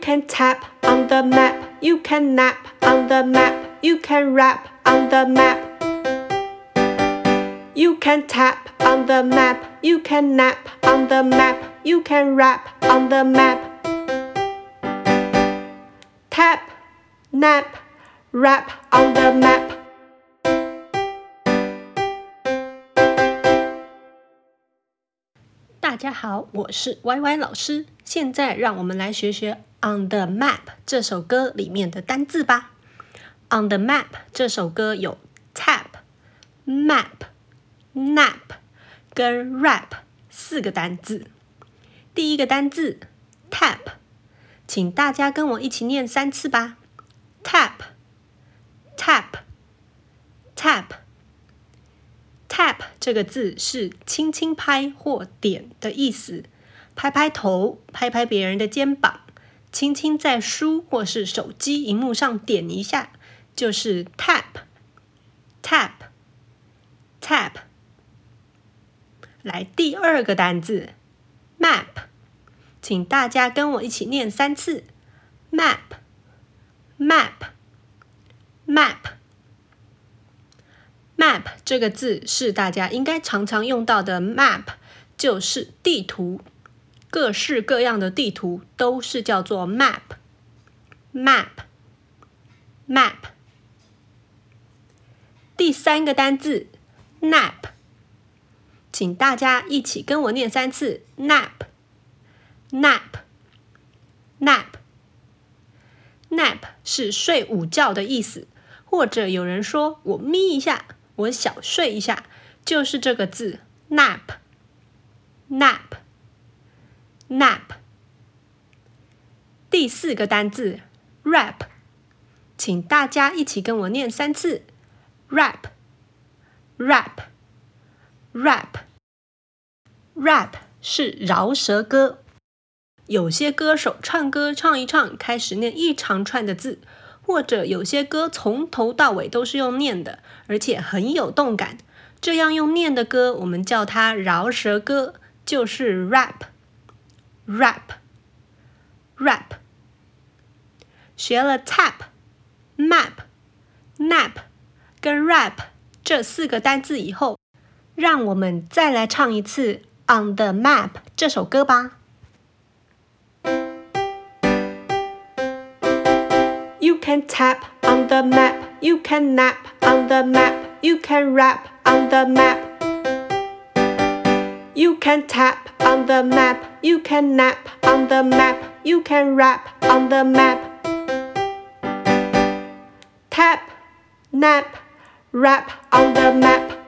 can tap on the map, you can nap on the map, you can rap on the map. You can tap on the map, you can nap on the map, you can rap on the map. Tap, nap, rap on the map. 大家好，我是 YY 老師。现在让我们來學學 On the Map 這首歌裡面的單字吧。On the Map 這首歌有 tap、map、nap 跟 rap 4個單字。第一個單字 tap， 請大家跟我一起念3次吧。tap tap tap tap 這個字是輕輕拍或點的意思，拍拍頭，拍拍別人的肩膀，輕輕在書或是手機螢幕上點一下，就是 tap tap tap。來，第二個單字 map， 請大家跟我一起念3次 map map map map 這個字是大家應該常常用到的 map， 就是地圖，各式各樣的地圖都是叫做 map map map。 第三個單字 nap， 請大家一起跟我念3次 nap nap nap nap 是睡午覺的意思，或者有人說我眯一下，我小睡一下，就是這個字 nap nap nap。 第4個單字 rap， 請大家一起跟我念3次 rap rap rap rap 是饒舌歌，有些歌手唱歌唱一唱，開始念一長串的字，或者有些歌從頭到尾都是用念的，而且很有動感，這樣用念的歌我們叫它饒舌歌，就是 rap rap rap。 學了 tap、map、nap 跟 rap 這4個單字以後，讓我們再來唱一次 On the Map 這首歌吧。You can tap on the map, you can nap on the map, you can rap on the map. You can tap on the map, you can nap on the map, you can rap on the map. Tap, nap, rap on the map.